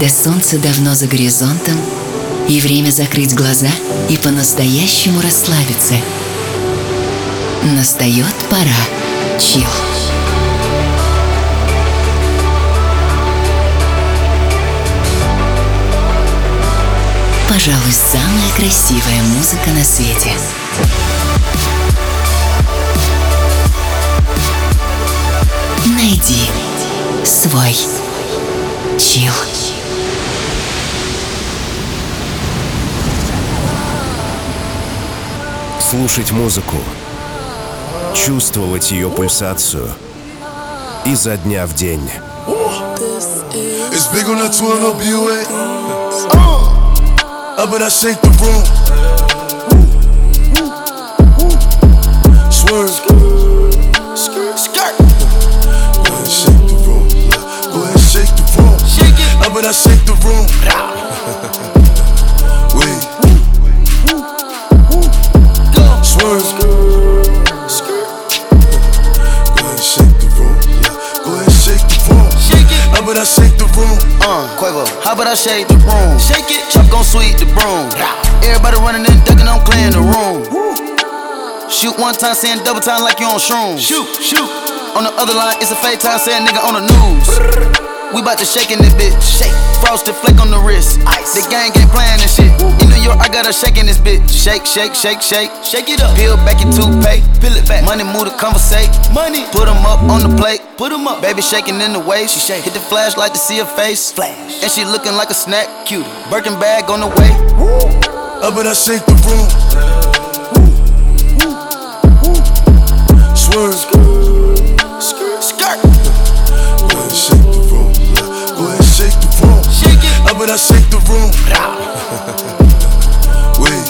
когда солнце давно за горизонтом, и время закрыть глаза и по-настоящему расслабиться. Настает пора чилл. Пожалуй, самая красивая музыка на свете. Найди свой чилл. Слушать музыку, чувствовать ее пульсацию изо дня в день. But I shake the room. Swerve. Skirt. Go ahead, shake the room. Go ahead, shake the room. Shake it. But I shake the room. Wait. Swerve. Skirt. Go ahead, shake the room. Go ahead, shake the room. Shake it. But I shake the room. Quavo, how about I shake the room? Shake it, chop gon' sweep the broom. Everybody running and ducking, I'm clearing the room. Shoot one time, saying double time like you on shrooms. Shoot. On the other line, it's a fake time, saying nigga on the news. We bout to shake in this bitch. Shake. Frosted flake on the wrist. Ice. The gang ain't playing this shit. In New York, I got her shaking this bitch. Shake. Shake it up. Peel back your toothpaste. Peel it back. Money move to conversate. Money. Put them up on the plate. Put them up. Baby shaking in the waist. She shake. Hit the flashlight to see her face. Flash. And she looking like a snack. Cutie. Birkin bag on the way. But I shake the room. Swerve. Skirt. Go ahead, shake the room. Go ahead, shake the room. Shake it. But I shake the room. Wait.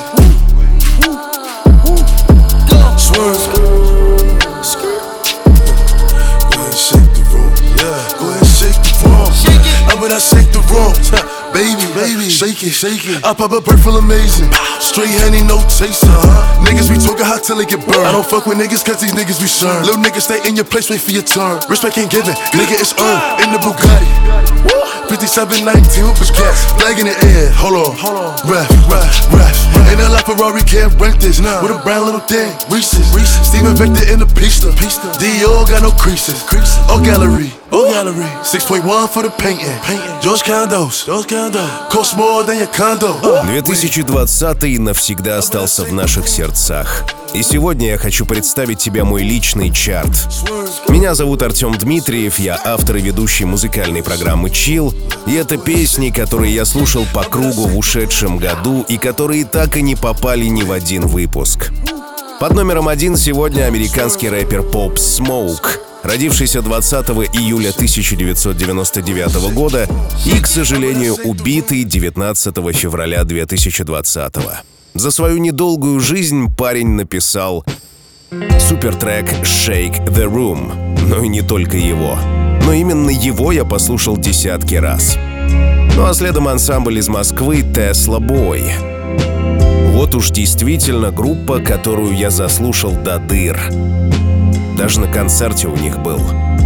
Swerve. Skirt. Go ahead, shake the room. Yeah. Go ahead, shake the room. Shake it. But I shake the room. Baby, shake it. I pop a bird full amazing. Straight honey, no chaser. Niggas be talking hot till they get burned. I don't fuck with niggas cause these niggas be shurned. Little niggas stay in your place, wait for your turn. Respect ain't given, nigga it's earned. In the Bugatti 5719 with the gas. Flag in the air, hold on. Ref. Ain't a lot Ferrari can't rent this. With a brown little thing, Reese's. Steven Vector in the pista. Dior got no creases. Oh gallery. 6.1 for the painting. George Condos. Cost more than your condo. 2020 навсегда остался в наших сердцах. И сегодня я хочу представить тебе мой личный чарт. Меня зовут Артем Дмитриев, я автор и ведущий музыкальной программы Chill. И это песни, которые я слушал по кругу в ушедшем году и которые так и не попали ни в один выпуск. Под номером 1 сегодня американский рэпер Pop Smoke, родившийся 20 июля 1999 года и, к сожалению, убитый 19 февраля 2020. За свою недолгую жизнь парень написал супертрек «Shake the Room». Но и не только его. Но именно его я послушал десятки раз. Ну а следом ансамбль из Москвы Tesla Boy. Вот уж действительно группа, которую я заслушал до дыр. Даже на концерте у них был.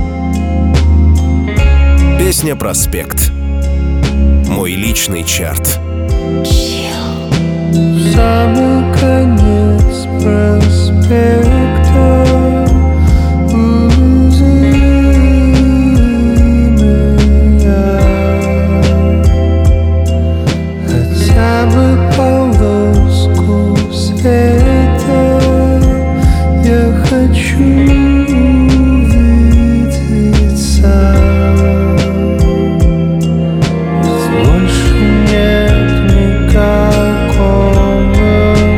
Песня «Проспект». Мой личный чарт. Самый конец проспекта. Хотя бы полоску света я хочу увидеть сам. Ведь больше нет никакого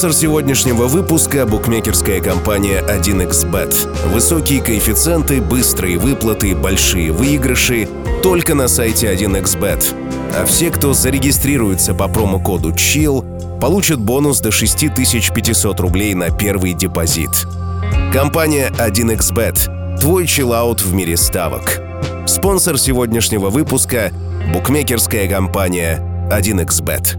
Спонсор сегодняшнего выпуска – букмекерская компания 1xBet. Высокие коэффициенты, быстрые выплаты, большие выигрыши – только на сайте 1xBet. А все, кто зарегистрируется по промокоду CHILL, получат бонус до 6500 рублей на первый депозит. Компания 1xBet – твой чиллаут в мире ставок. Спонсор сегодняшнего выпуска – букмекерская компания 1xBet.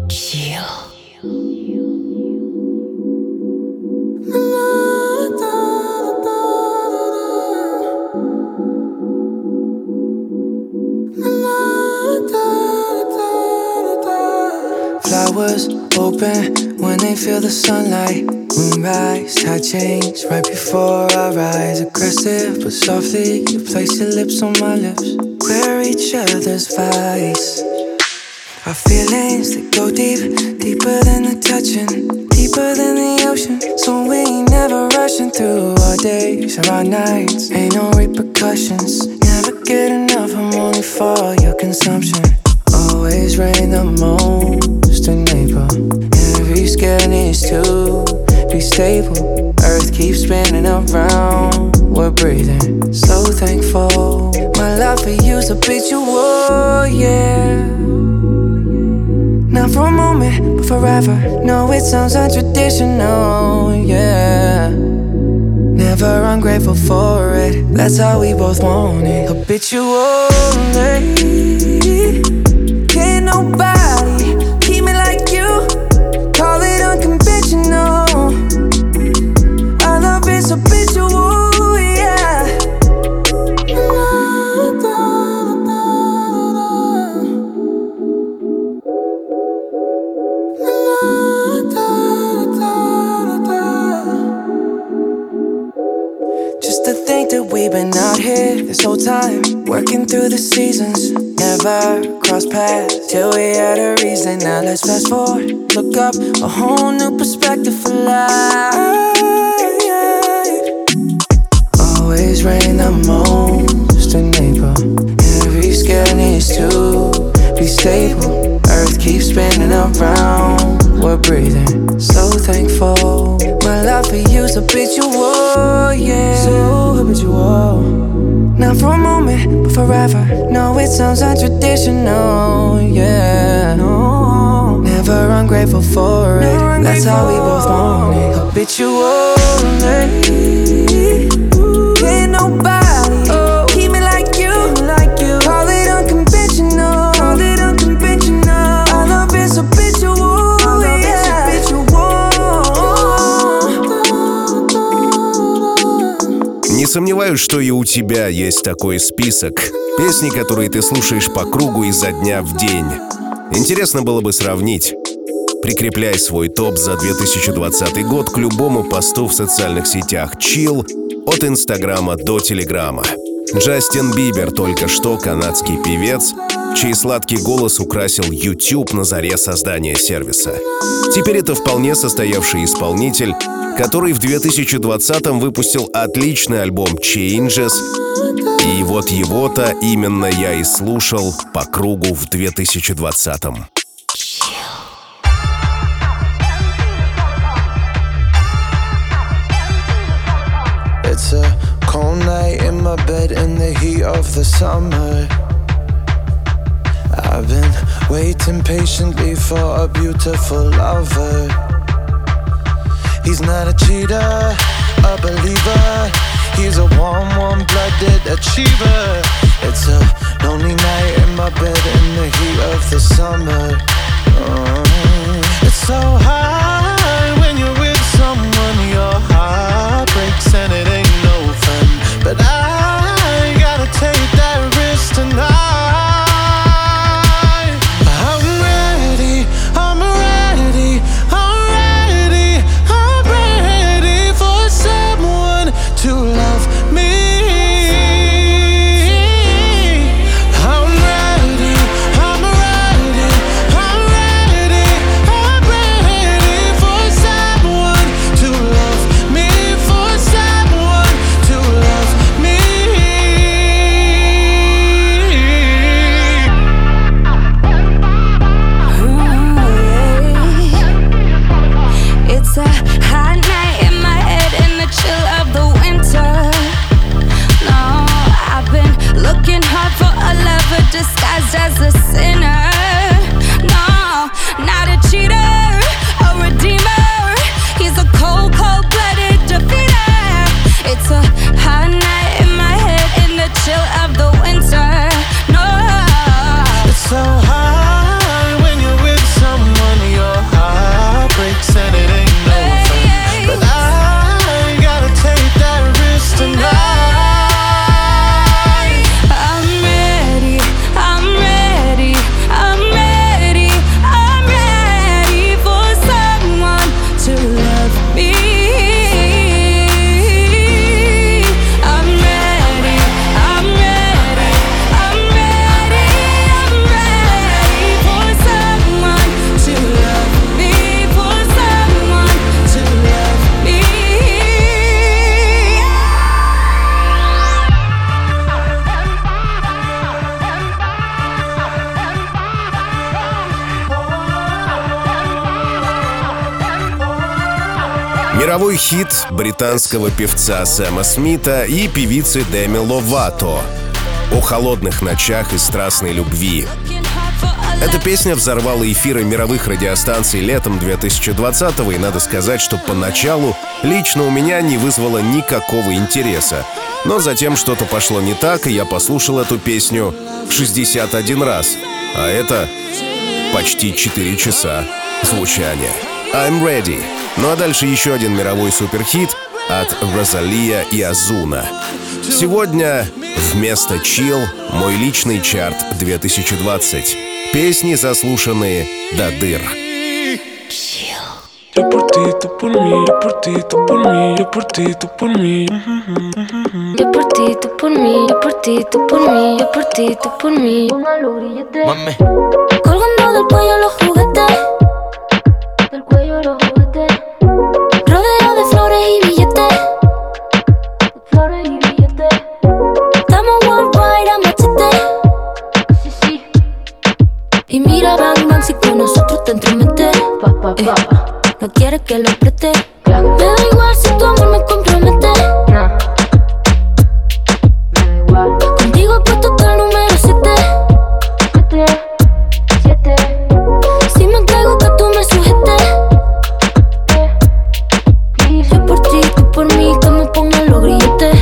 Flowers open when they feel the sunlight. Moonrise, tide change right before our eyes. Aggressive but softly, you place your lips on my lips. We're each other's vice. Our feelings, they go deep, deeper than the touching, deeper than the ocean. So we ain't never rushing through our days or our nights. Ain't no repercussions, never get enough, I'm only for your consumption. Always rain the most in April. Every scale needs to be stable. Earth keeps spinning around, we're breathing. So thankful, my love for you's habitual, yeah. Not for a moment, but forever. No, it sounds untraditional, yeah. Never ungrateful for it, that's how we both want it. Habitual, can't nobody keep me like you. Call it unconventional. Our love is habitual, yeah. Just to think that we've been out here this whole time, working through the seasons. Never cross paths till we had a reason. Now let's fast forward, look up, a whole new perspective for life. Always rain the most in April. Every scale needs to be stable. Earth keeps spinning around, we're breathing. So thankful, my love for you's habitual, yeah. So habitual. Not for a moment, but forever. No, it sounds untraditional, yeah. No, never ungrateful for it. That's how we both want it. Habitual, can't nobody keep me like you. Call it unconventional. Our love is habitual, yeah. Не сомневаюсь, что и у тебя есть такой список. Песни, которые ты слушаешь по кругу изо дня в день. Интересно было бы сравнить. Прикрепляй свой топ за 2020 год к любому посту в социальных сетях Chill от Инстаграма до Телеграма. Джастин Бибер только что канадский певец, чей сладкий голос украсил YouTube на заре создания сервиса. Теперь это вполне состоявший исполнитель, который в 2020-м выпустил отличный альбом Changes, и вот его-то именно я и слушал по кругу в 2020-м. It's a cold night in my bed in the heat of the summer. I've been waiting patiently for a beautiful lover. He's not a cheater, a believer. He's a warm-blooded achiever. It's a lonely night in my bed in the heat of the summer. It's so hard when you're with someone. Your heart breaks and it ain't no fun. But I gotta take that risk tonight. To love me, I'm ready, I'm ready, I'm Мировой хит британского певца Сэма Смита и певицы Деми Ловато о холодных ночах и страстной любви. Эта песня взорвала эфиры мировых радиостанций летом 2020-го, и надо сказать, что поначалу лично у меня не вызвало никакого интереса. Но затем что-то пошло не так, и я послушал эту песню 61 раз. А это почти 4 часа звучания. I'm Ready. Ну а дальше еще один мировой суперхит от Розалия и Озуна. Сегодня вместо Chill мой личный чарт 2020. Песни, заслушанные до дыр. Yo por ti, tú por mí, yo por ti, tú por mí, yo por ti, tú por mí. Yo por ti, tú por mí, yo por ti, tú por mí, yo por ti, tú por mí. Póngalo grillete. Mami. Colgando del cuello los juguetes, del cuello los juguetes. Rodeado de flores y billetes, flores y billetes. Estamos worldwide a machete. Sí, sí. Y mira, bang, bang, si con nosotros te entrometes. No quieres que lo apriete. Me da igual si tu amor me compromete. Me da igual. Contigo he puesto hasta el número 7. Si me entrego que tú me sujetes. Yo por ti, tú por mí, que me pongan los grilletes.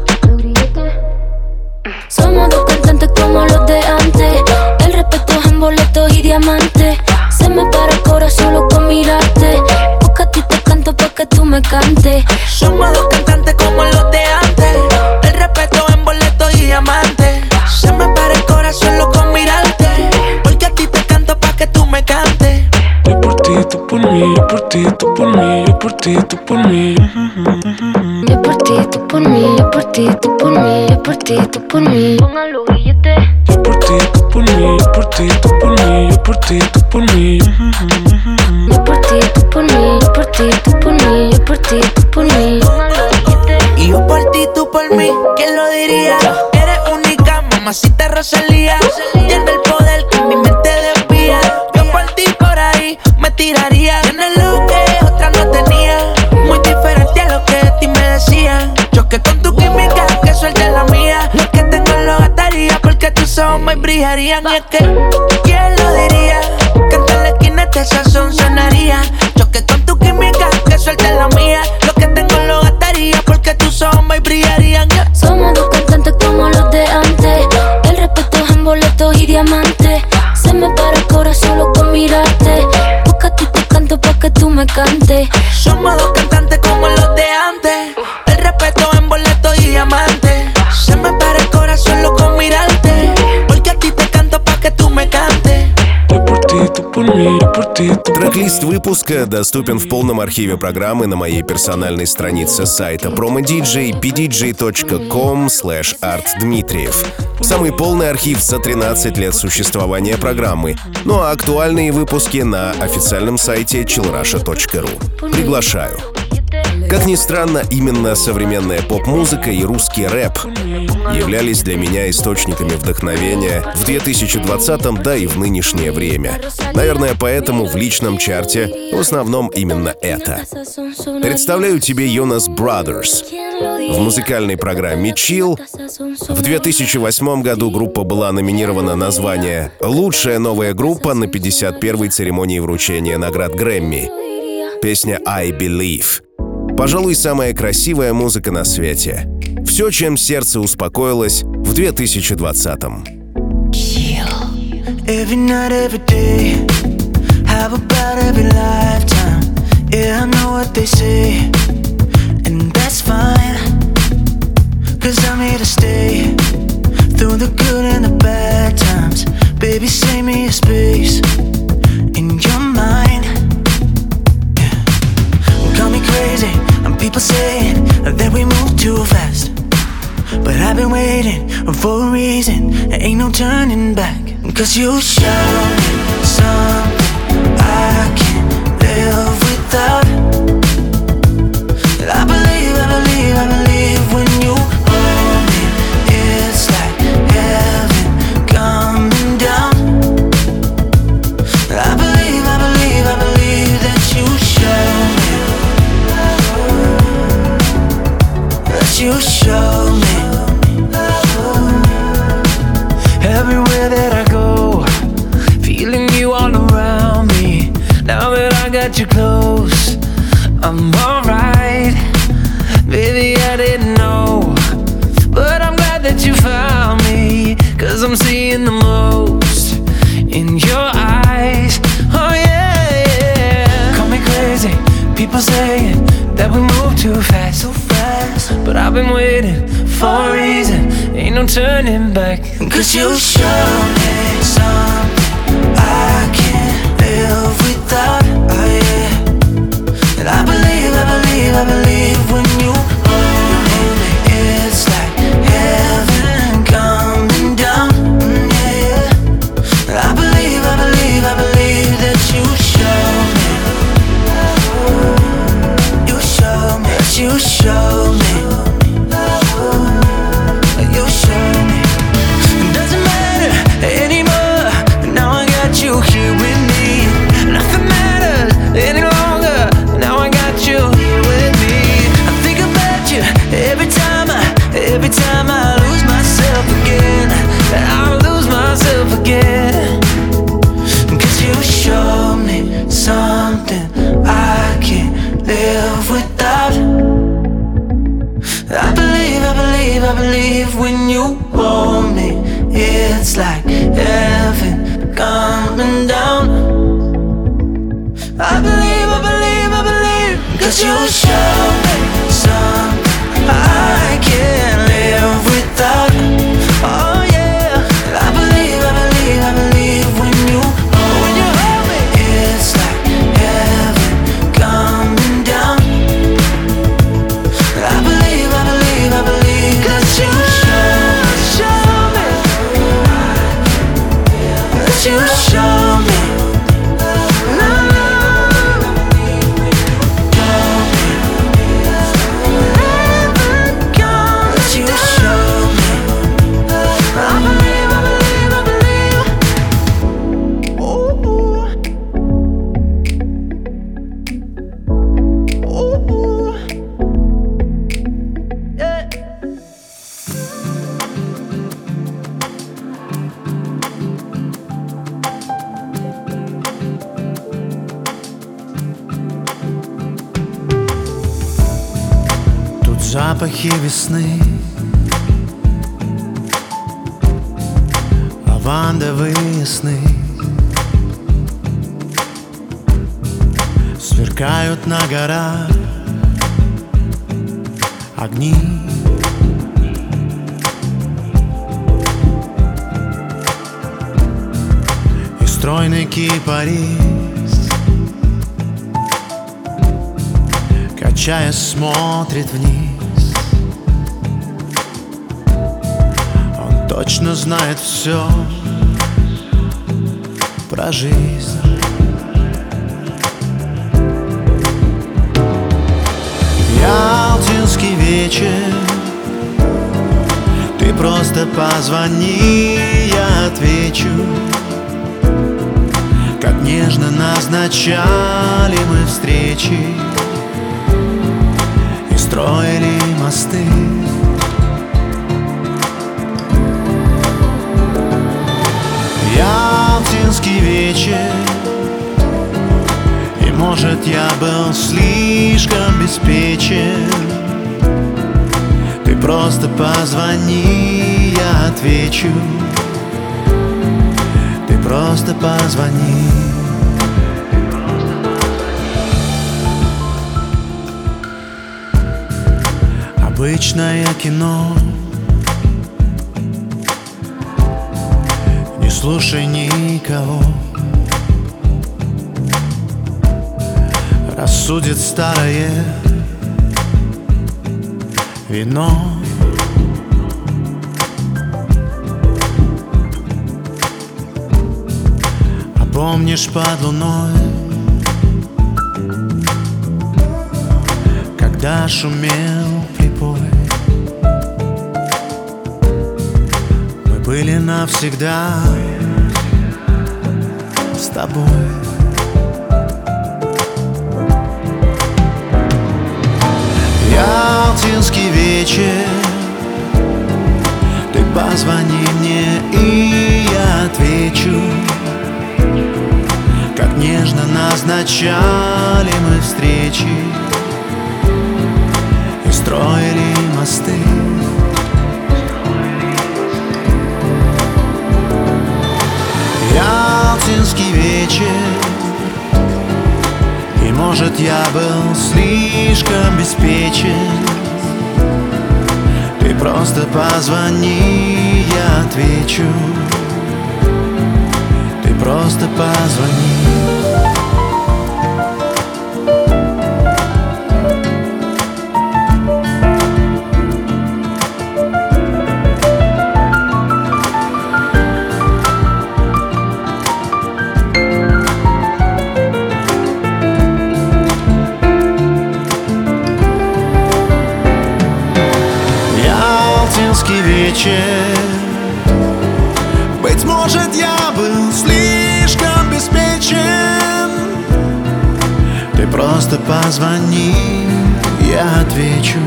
Somos dos cantantes como los de antes. El respeto es en boletos y diamantes. Se me para el corazón solo con mirarte. Porque a ti te canto pa' que tú me cantes. Somos dos cantantes como los de antes. El respeto en boleto y diamante. Se me para el corazón solo con mirarte. Porque a ti te canto pa' que tú me cantes. Yo por ti, tú por mí, yo por ti, tú por mí, yo por ti, tú por mí. Yo por ti, tú por mí, yo por ti, tú por mí, yo por ti, tú por mí. Póngalo billete. Yo por ti, tú por mí, yo por ti, tú por mí, yo por ti, tú por mí. Yo por ti, tú por mí, yo por ti, tú por mí, yo por ti, tú por mí. Póngalo billete. Y yo por ti, tú por mí, ¿quién lo diría? Eres única, mamacita Rosalía. Tiene el poder que mi mente desvía. Yo por ti por ahí me tiraría. Tienes lo que otra no tenía. Muy diferente a lo que de ti me decían. Choque con tu química, que suelte la mía. Lo que tengo lo gastaría porque tus ojos me brillarían. Y es que, ¿quién lo diría? Que en la esquina este sazón sonaría. Choque con tu química, que suelte la mía. Lo que tengo lo gastaría porque tus ojos me brillarían. Somos dos cantantes como los de antes. El respeto es en boletos y diamantes. Se me para el corazón solo con mirarte. Porque a ti te canto pa' que tú me cantes. Somos dos cantantes como los de antes. El respeto en boleto y diamante. Se me para el corazón solo con mirarte. Porque a ti te canto pa' que tú me cantes. Yo por ti, tú por mí, yo por ti, tú por mí. Трек-лист выпуска доступен в полном архиве программы на моей персональной странице сайта promodj pdj.com/artdmitriev. Самый полный архив за 13 лет существования программы. Ну а актуальные выпуски на официальном сайте chillrusha.ru. Приглашаю. Как ни странно, именно современная поп-музыка и русский рэп являлись для меня источниками вдохновения в 2020-м, да и в нынешнее время. Наверное, поэтому в личном чарте в основном именно это. Представляю тебе Jonas Brothers. В музыкальной программе Chill в 2008 году группа была номинирована на звание «Лучшая новая группа» на 51-й церемонии вручения наград Грэмми. Песня «I Believe». Пожалуй, самая красивая музыка на свете. Все, чем сердце успокоилось в 2020-м. Every night, every day, how about every lifetime? Yeah, I know what they say, and that's fine. Cause I'm here to stay, through the good and the bad times. Baby, save me a space in your mind. Call me crazy, and people saying that we move too fast. But I've been waiting for a reason, there ain't no turning back. Cause you show me something I can't live without. I believe, I believe, I believe when you hold me, it's like heaven coming down. I believe, I believe, I believe that you show me. I'm seeing the most in your eyes. Oh yeah, yeah. Call me crazy, people saying that we move too fast, so fast. But I've been waiting for a reason, ain't no turning back. 'Cause you show me something I can't live without. Oh yeah. And I believe when you hold me, it's like heaven coming down. Yeah, yeah. And I believe that you show me, that you show me. It doesn't matter anymore, now I got you here with me. Nothing matters any longer, now I got you here with me. I think about you every time I lose myself again. I lose myself again. 'Cause you show me something I can't live without. I believe when you hold me, it's like heaven coming down. I believe 'cause you show me something I can't live without. Oh yeah, I believe when you hold me, it's like heaven coming down. I believe 'cause you show me, that you show me. Запахи весны, лавандовые сны сверкают на горах огни. И стройный кипарис, качаясь, смотрит вниз. Точно знает все про жизнь. Ялтинский вечер, ты просто позвони, я отвечу. Как нежно назначали мы встречи и строили мосты. Ялтинский вечер, и может я был слишком беспечен. Ты просто позвони, я отвечу. Ты просто позвони. Обычное кино, не слушай никого. Рассудит старое вино. А помнишь под луной, когда шумел припой, мы были навсегда с тобой. Ялтинский вечер, ты позвони мне, и я отвечу. Как нежно назначали мы встречи и строили мосты. ялтинский вечер. И может я был слишком беспечен. Ты просто позвони, я отвечу. Ты просто позвони. Вечер. Быть может, я был слишком беспечен. Ты просто позвони, я отвечу.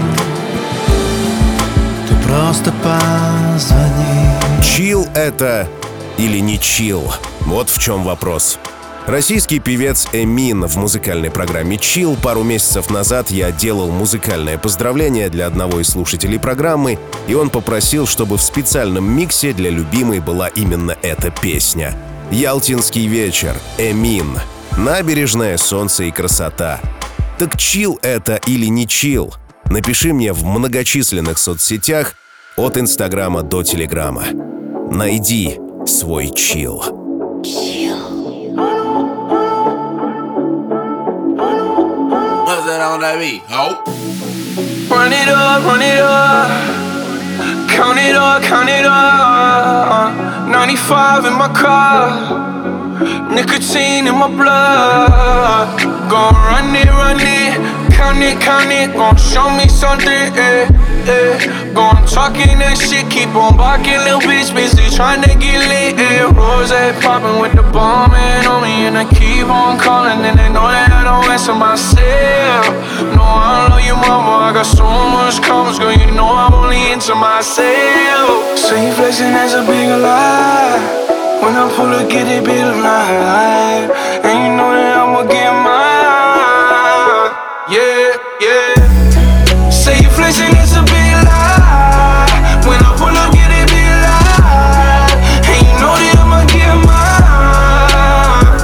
Ты просто позвони. Чилл это или не чилл? Вот в чем вопрос. Российский певец Эмин в музыкальной программе «Чилл». Пару месяцев назад я делал музыкальное поздравление для одного из слушателей программы, и он попросил, чтобы в специальном миксе для любимой была именно эта песня. «Ялтинский вечер», Эмин. Набережная, солнце и красота. Так чилл это или не чилл? Напиши мне в многочисленных соцсетях от Инстаграма до Телеграма. Найди свой чилл. On that beat. Oh. Run it up, count it up, count it up. 95 in my car, nicotine in my blood. Gon' run it, count it, gon' show me something, Gon' talking that shit, keep on barking, little bitch, busy tryna get lit, Rose poppin' with the bomb on me, and I keep on calling, and they know that I don't answer myself. No, I love you, mama, I got so much comments, girl, you know I'm only into myself. So you flexing, that's a big lie. When I pull up, get it big alive, and you know that I'ma get mine. Yeah. Say you flexing, that's a big lie. When I pull up, get it big alive, and you know that I'ma get mine.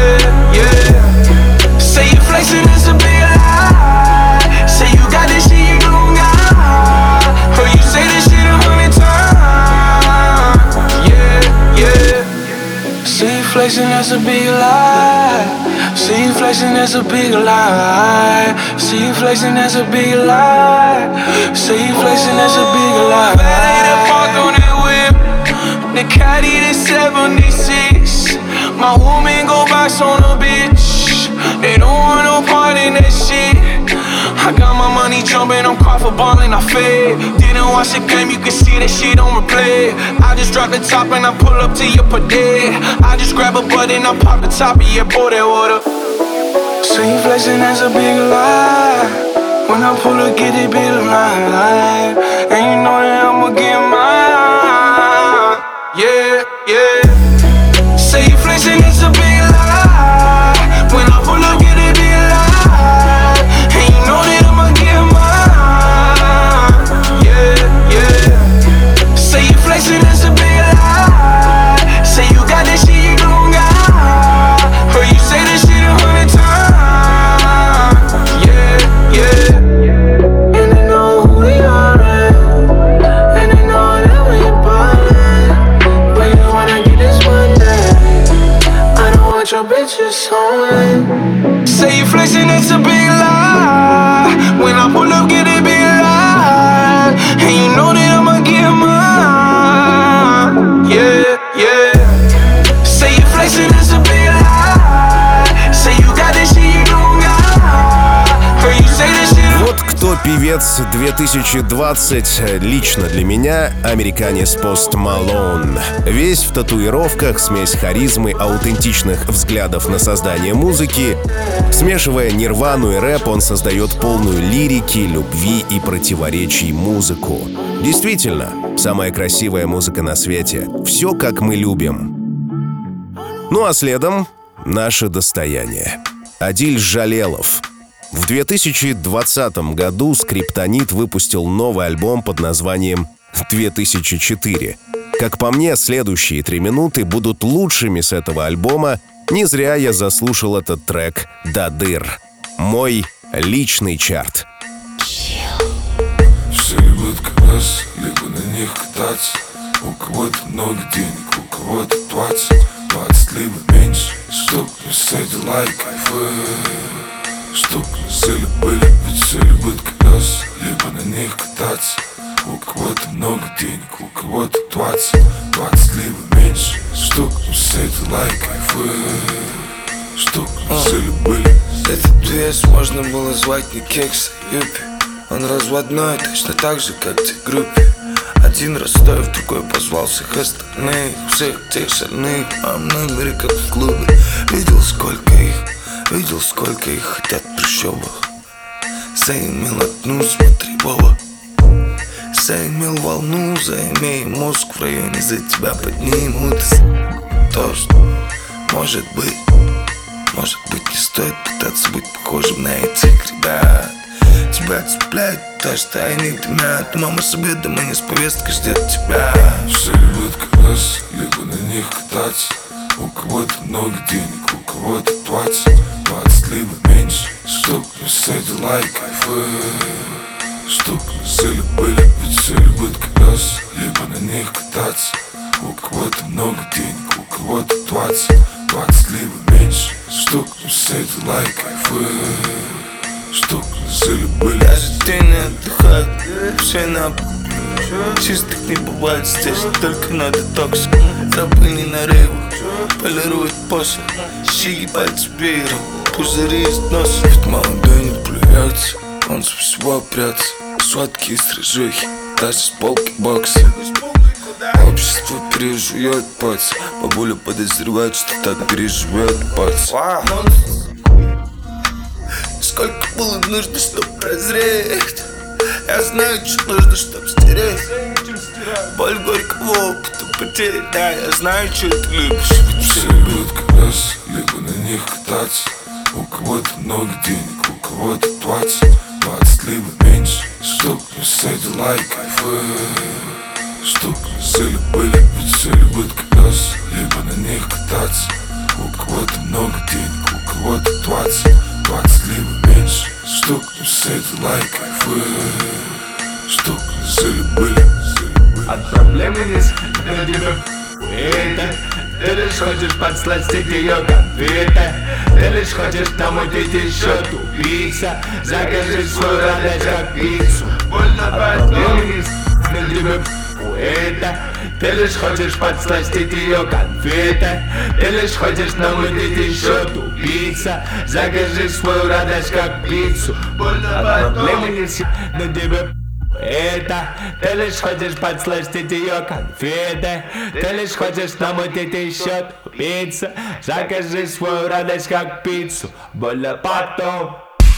Yeah. Say you flexing, that's a big lie. Say you got this shit you don't got. Heard you say this shit 100 times. Yeah. Say you flexing, that's a big lie. See you flexing, that's a big lie. See you flexing, that's a big lie. See you flexing, that's a big lie. Valet park on that whip, the caddy the 76. My woman go box on a bitch. They don't want no part in that shit. I got my money jumping, I'm caught for ballin', I fade. Didn't watch the game, you can see that shit on replay. I just drop the top and I pull up to your parade. I just grab a button, I pop the top of your pour that water. So you flexing, that's a big lie. When I pull up, get it big alive, and you know that I'ma get mine. Yeah. Say you flexing, that's a big lie. When I pull up, get it big alive, and you know that I'ma get mine. Yeah. Say you flexing, that's a big lie. Say you got this shit you don't got. Heard you say this shit 100 times. Yeah. And they know who we are, and they know that we ballin'. But you wanna get this one day, I don't want your bitches on. Say you flexing, it's a big lie. When I pull up, get it big lie, and you know that I'ma get mine. Yeah. Say you flexing, it's a big lie. Say you got this shit you don't got. Heard you say this shit. Вот кто певец 2020 лично для меня, американец Post Malone. Весь в татуировках, смесь харизмы, аутентичных взглядов на создание музыки. Смешивая нирвану и рэп, он создает полную лирики, любви и противоречий музыку. Действительно, самая красивая музыка на свете. Все, как мы любим. Ну а следом наше достояние. Адиль Жалелов. В 2020 году Скриптонит выпустил новый альбом под названием «2004». Как по мне, следующие 3 минуты будут лучшими с этого альбома. Не зря я заслушал этот трек до дыр. Мой личный чарт. Все любят колеса, либо на них кататься. У кого-то много денег, у кого-то 20 либо меньше. Чтоб не сидела и кайфует. Чтоб не сели были, ведь все любят колеса, либо на них кататься. У кого-то много денег, у кого-то 20 либо меньше. Чтоб не сидела и кайфует. Чтоб не сели были. Этот вес можно было звать не Кекс, а Юпи. Он разводной, точно так же, как те группе. Один Ростов, другой позвал всех остальных. Всех тех шальных, а в номере, как в клубе. Видел, сколько их хотят в трущобах. Заимел одну, смотри, Вова. Заимел волну, заимей мозг в районе, за тебя поднимут. То, что может быть не стоит пытаться быть похожим на этих ребят. Тебя цепляет то, что они дымят. Мама с обеда, мы не с повесткой ждет тебя. Все любят колеса, либо на них кататься. У кого-то много денег, у кого-то 20 либо меньше. Чтоб не сидела и кайфует. Чтоб не сели были, ведь все любят колеса, либо на них кататься. У кого-то много денег, у кого-то 20 либо меньше. Чтоб не сидела и кайфует. Чтоб не сели были. Даже ты не отдыхает, все на чистых не бывает здесь, только на детокс. Рабы не на рейвах, полируют после. Щеки пальцы веером, пузыри из носа. Ведь молодой не плюется, он со всего прятся. Сладкие стрижухи, даже с полки бокса. Общество пережует пац. Бабуля подозревает, что так переживет пац. Сколько было нужно, чтоб прозреть. Я знаю, что нужно, чтоб стереть. Боль горького опыта потерь. Да, я знаю, что ты любишь. Все любят колеса, либо на них кататься. У кого-то много денег, у кого-то 20 либо меньше. Чтоб не сидела и кайфует. Чтоб не сели были, ведь все любят колеса, либо на них кататься. У кого-то много денег, у кого-то 20 либо меньше. Чтоб не сидела и кайфует. Чтоб не сели были. От проблемы здесь до тебя это. Ты лишь хочешь подсластить ее конфеты. Ты лишь хочешь намутить еще тупица. Закажи свою радость как пиццу. Больно от проблемы здесь до тебя это. Ты лишь хочешь подсластить ее конфеты. Ты лишь хочешь намутить еще тупица. Закажи свою радость как пиццу. Больно от проблемы здесь до тебя это. Ты лишь хочешь подсластить ее конфеты. Ты лишь хочешь намутить еще тупица. Закажи свою радость как пиццу. Больно потом.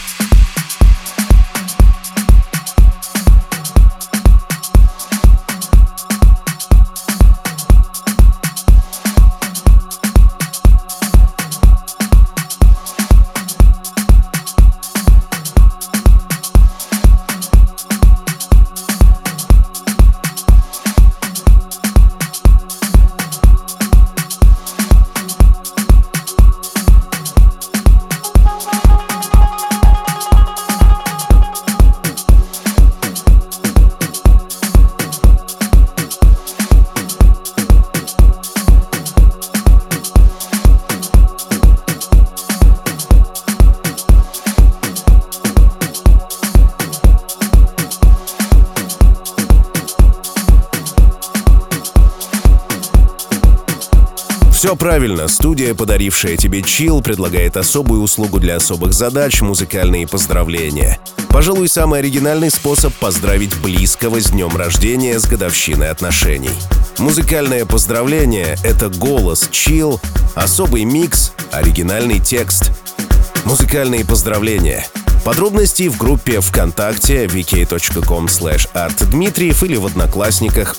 Все правильно, студия, подарившая тебе чил, предлагает особую услугу для особых задач — музыкальные поздравления. Пожалуй, самый оригинальный способ поздравить близкого с днем рождения, с годовщиной отношений. Музыкальное поздравление — это голос, чил, особый микс, оригинальный текст. Музыкальные поздравления. Подробности в группе ВКонтакте vk.com/artdmitriev или в Одноклассниках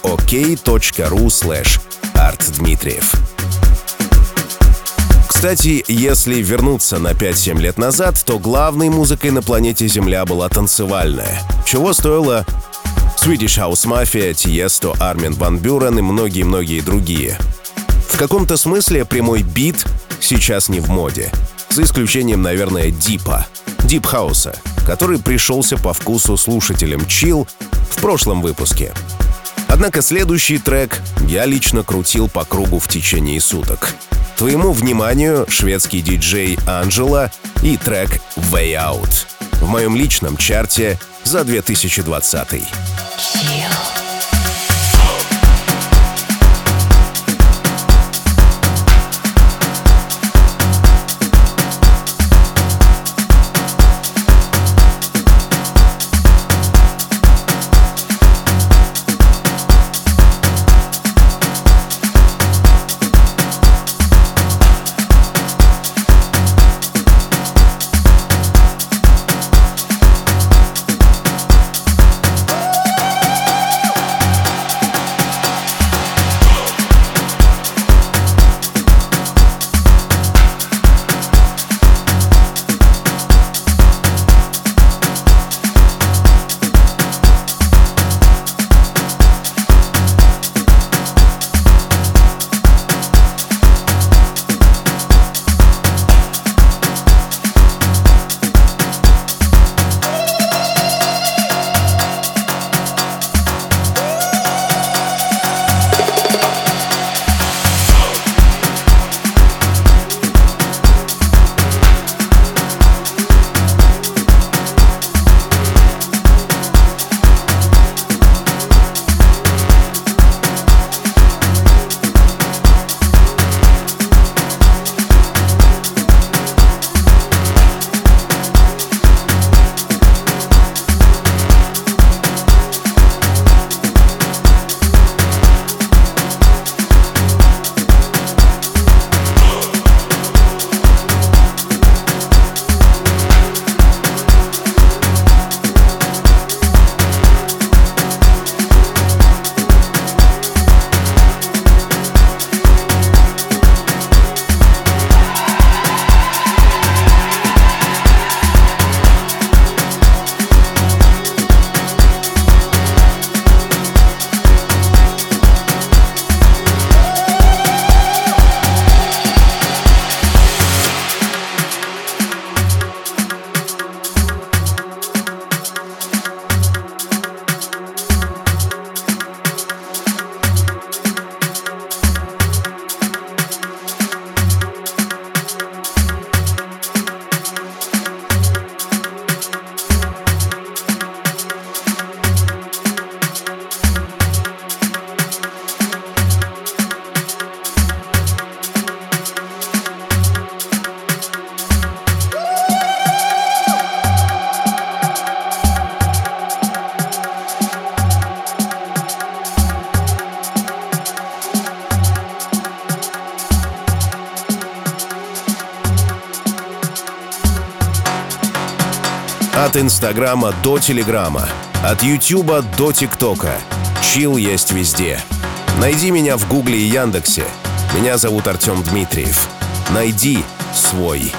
ok.ru/artdmitriev. Кстати, если вернуться на 5-7 лет назад, то главной музыкой на планете Земля была танцевальная. Чего стоило Swedish House Mafia, Tiesto, Армин ван Бюрен и многие-многие другие. В каком-то смысле прямой бит сейчас не в моде, за исключением, наверное, дипа, дип-хауса, который пришелся по вкусу слушателям Chill в прошлом выпуске. Однако следующий трек я лично крутил по кругу в течение суток. Твоему вниманию шведский диджей Анджела и трек Way Out в моем личном чарте за 2020. От Инстаграма до Телеграма, от Ютуба до ТикТока. Chill есть везде. Найди меня в Гугле и Яндексе. Меня зовут Артем Дмитриев. Найди свой.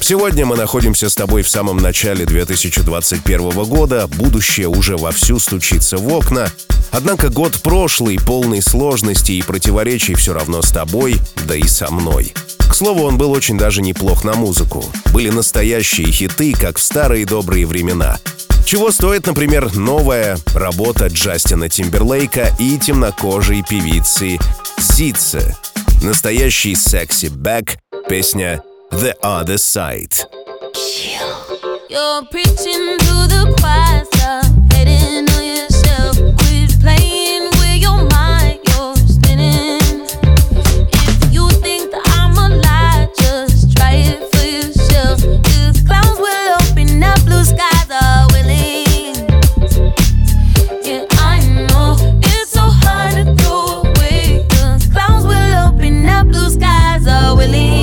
Сегодня мы находимся с тобой в самом начале 2021 года, будущее уже вовсю стучится в окна. Однако год прошлый, полный сложностей и противоречий, все равно с тобой, да и со мной. К слову, он был очень даже неплох на музыку. Были настоящие хиты, как в старые добрые времена. Чего стоит, например, новая работа Джастина Тимберлейка и темнокожей певицы Ситсе. Настоящий секси-бэк, песня «The Other Side». You're preaching to the choir, stop hating on yourself. Quit playing with your mind, you're spinning. If you think that I'm a lie, just try it for yourself. 'Cause clouds will open up, blue skies are willing. Yeah, I know it's so hard to throw away. 'Cause clouds will open up, blue skies are willing.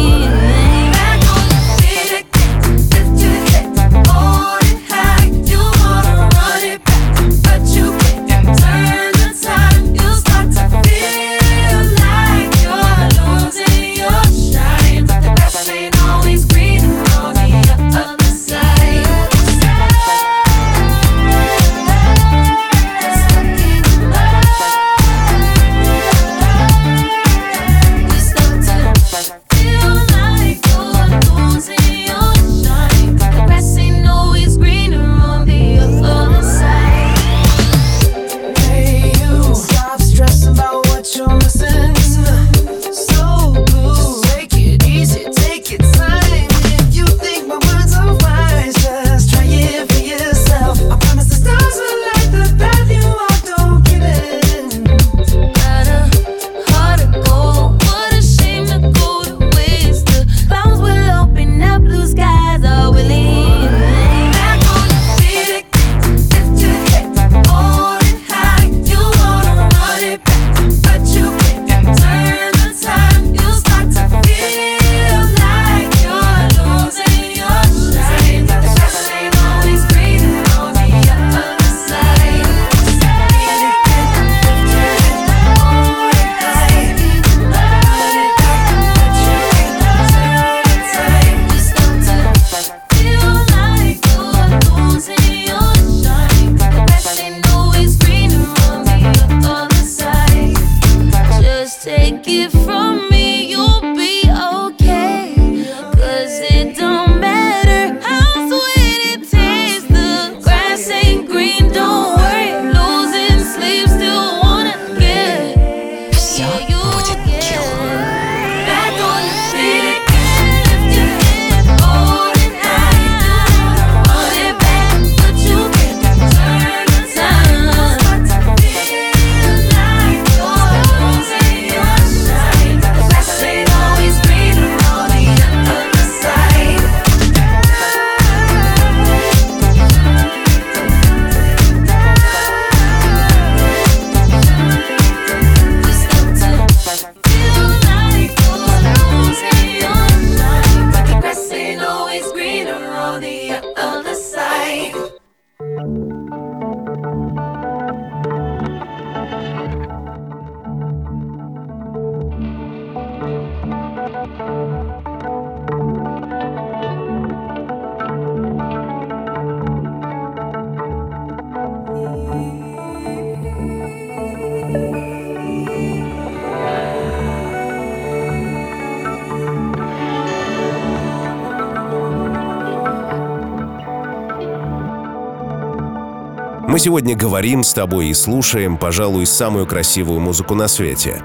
Мы сегодня говорим с тобой и слушаем, пожалуй, самую красивую музыку на свете.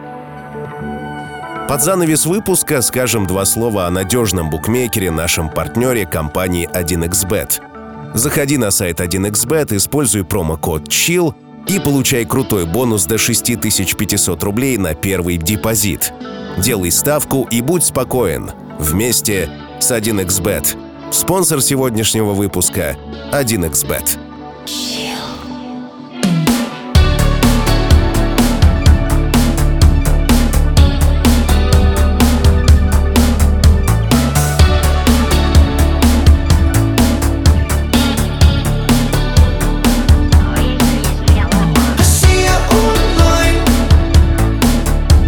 Под занавес выпуска скажем два слова о надежном букмекере, нашем партнере компании 1xBet. Заходи на сайт 1xBet, используй промокод CHILL и получай крутой бонус до 6500 рублей на первый депозит. Делай ставку и будь спокоен. Вместе с 1xBet. Спонсор сегодняшнего выпуска — 1xBet.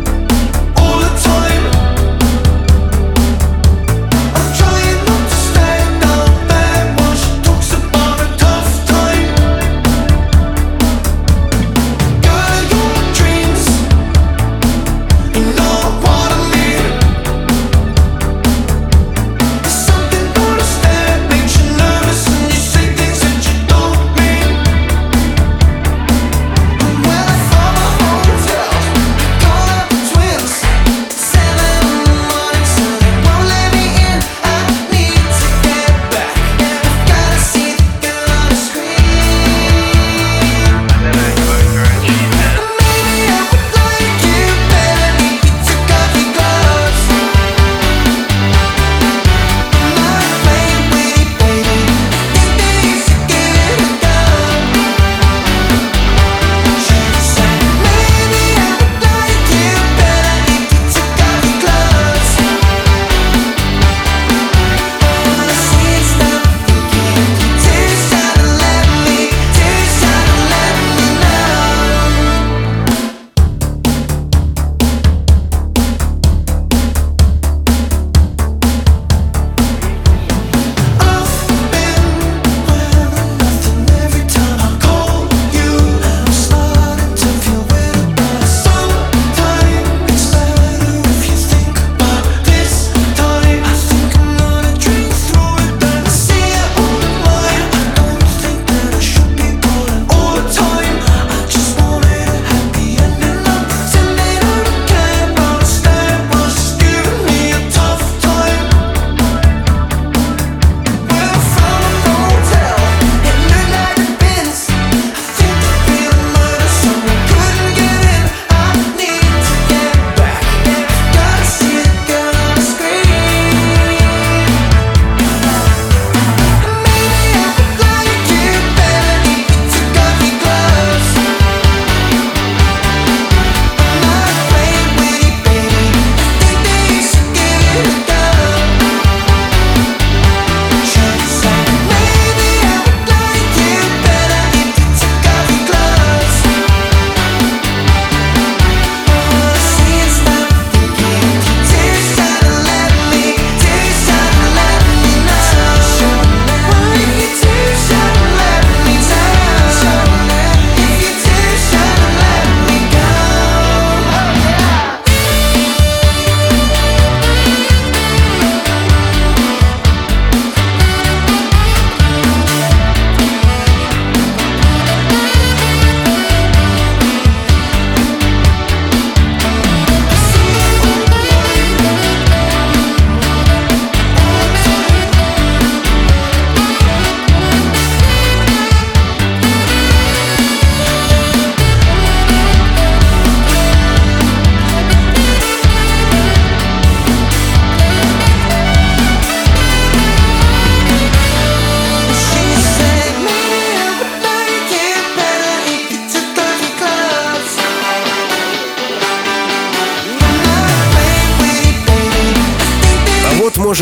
Stay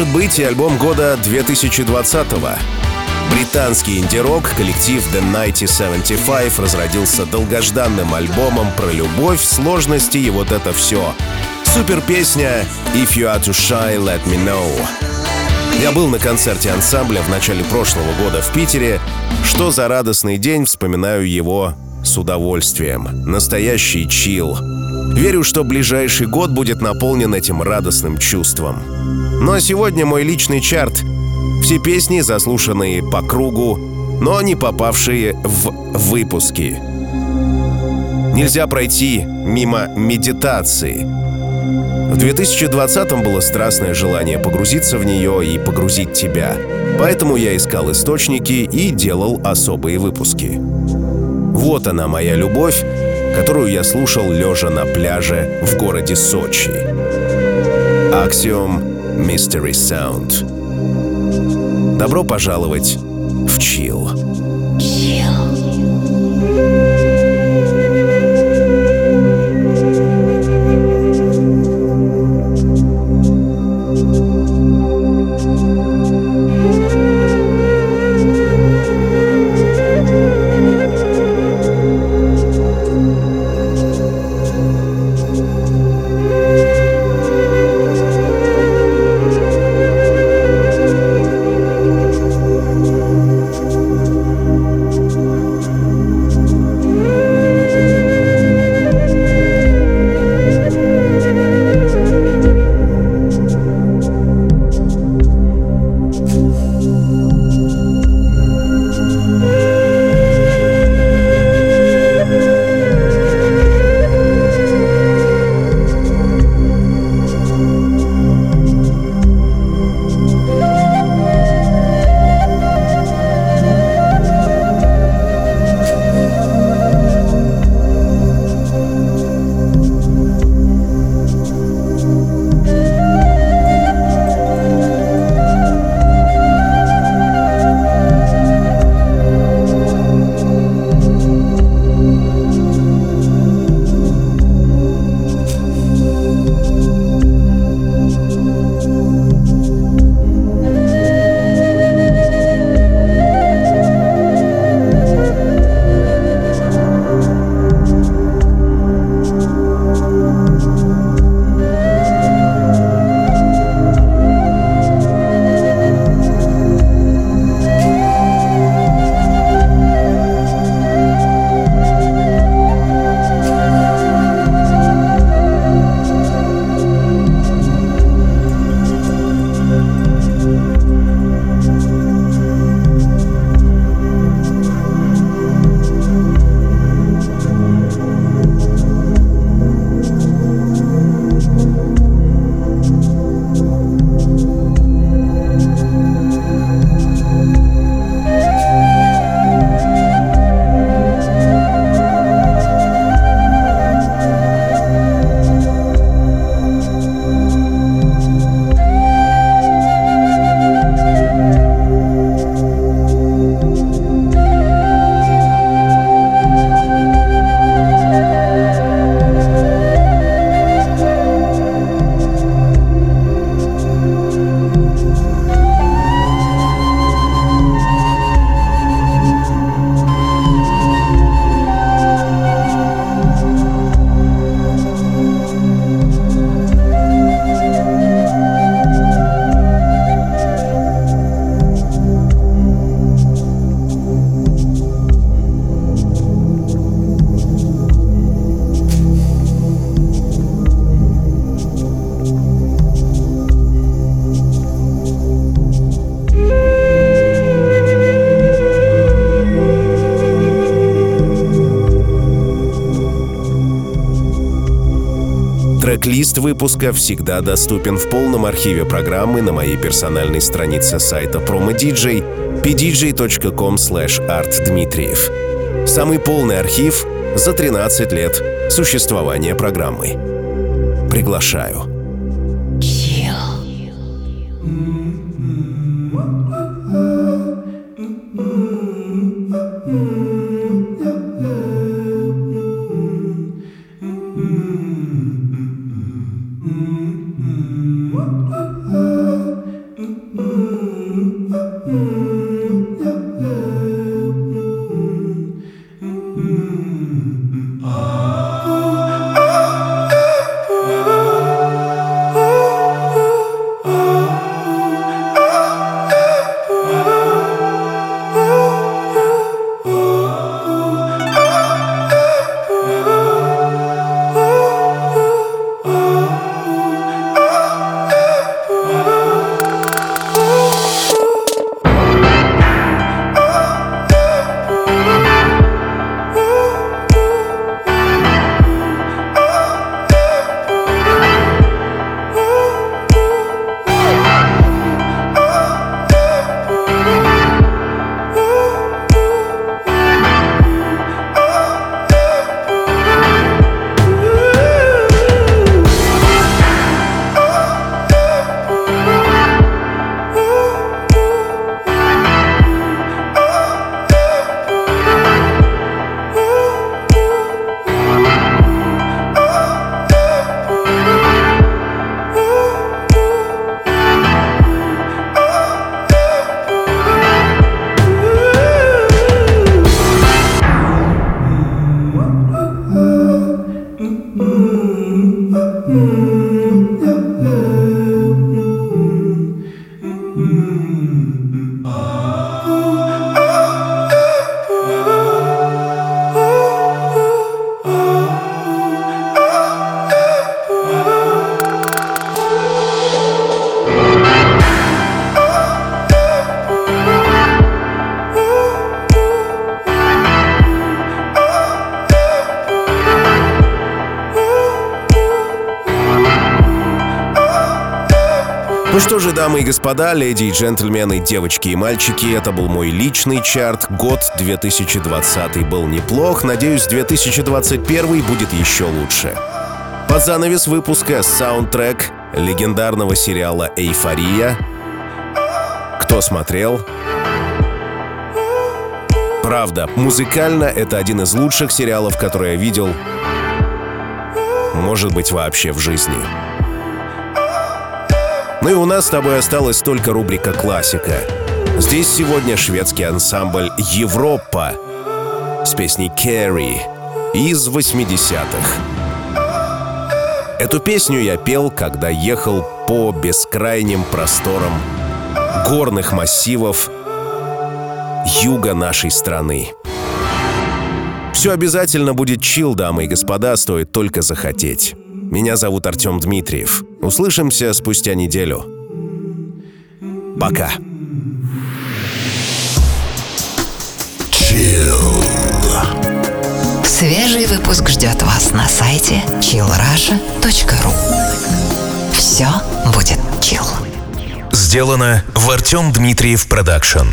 может быть и альбом года 2020-го. Британский инди-рок коллектив The 1975 разродился долгожданным альбомом про любовь, сложности и вот это все. Супер песня «If you are too shy, let me know». Я был на концерте ансамбля в начале прошлого года в Питере. Что за радостный день, вспоминаю его с удовольствием. Настоящий чилл. Верю, что ближайший год будет наполнен этим радостным чувством. Ну а сегодня мой личный чарт. Все песни, заслушанные по кругу, но не попавшие в выпуски. Нельзя пройти мимо медитации. В 2020-м было страстное желание погрузиться в нее и погрузить тебя. Поэтому я искал источники и делал особые выпуски. Вот она, моя любовь, которую я слушал лежа на пляже в городе Сочи. Axiom Mystery Sound. Добро пожаловать в чилл. Трек-лист выпуска всегда доступен в полном архиве программы на моей персональной странице сайта PromoDJ pdj.com/artdmitriev. Самый полный архив за 13 лет существования программы. Приглашаю. что же, дамы и господа, леди и джентльмены, девочки и мальчики, это был мой личный чарт. Год 2020 был неплох, надеюсь, 2021 будет еще лучше. Под занавес выпуска саундтрек легендарного сериала «Эйфория». Кто смотрел? Правда, музыкально это один из лучших сериалов, который я видел, может быть, вообще в жизни. Ну и у нас с тобой осталась только рубрика «Классика». Здесь сегодня шведский ансамбль «Европа» с песней «Carrie» из 80-х. Эту песню я пел, когда ехал по бескрайним просторам горных массивов юга нашей страны. Все обязательно будет чил, дамы и господа, стоит только захотеть. Меня зовут Артем Дмитриев. Услышимся спустя неделю. Пока. Свежий выпуск ждет вас на сайте chillrusha.ru. Все будет чил. Сделано в Артем Дмитриев Продакшн.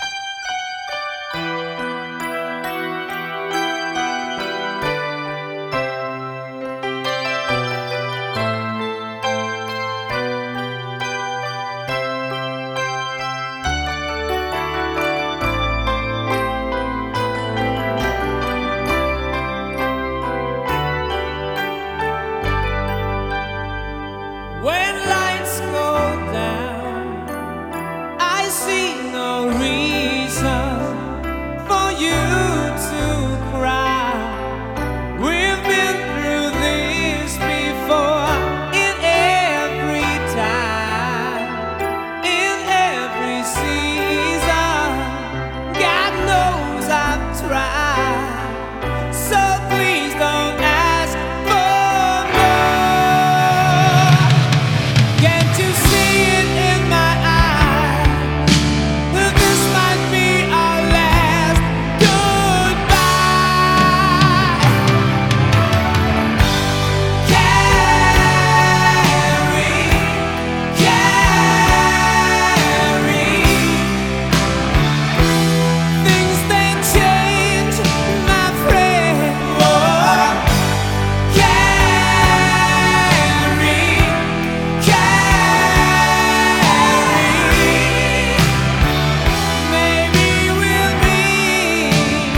When lights go down, I see no reason for you to cry. We've been through this before, in every time, in every season. God knows I've tried, so please don't ask for more. Can't you see it in my eyes, that this might be our last goodbye? Carrie, things they change, my friend. Oh, Carrie, maybe we'll meet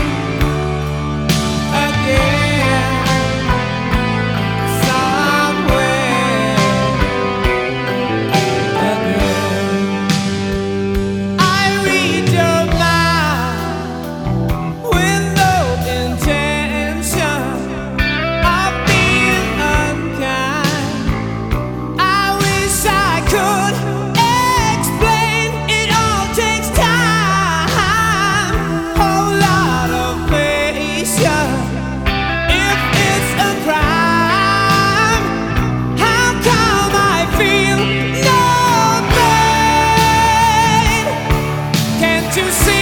again somewhere again. I read your mind with no intention of being unkind. I wish I could explain. It all takes time, whole lot of patience. If it's a crime, how come I feel no pain? Can't you see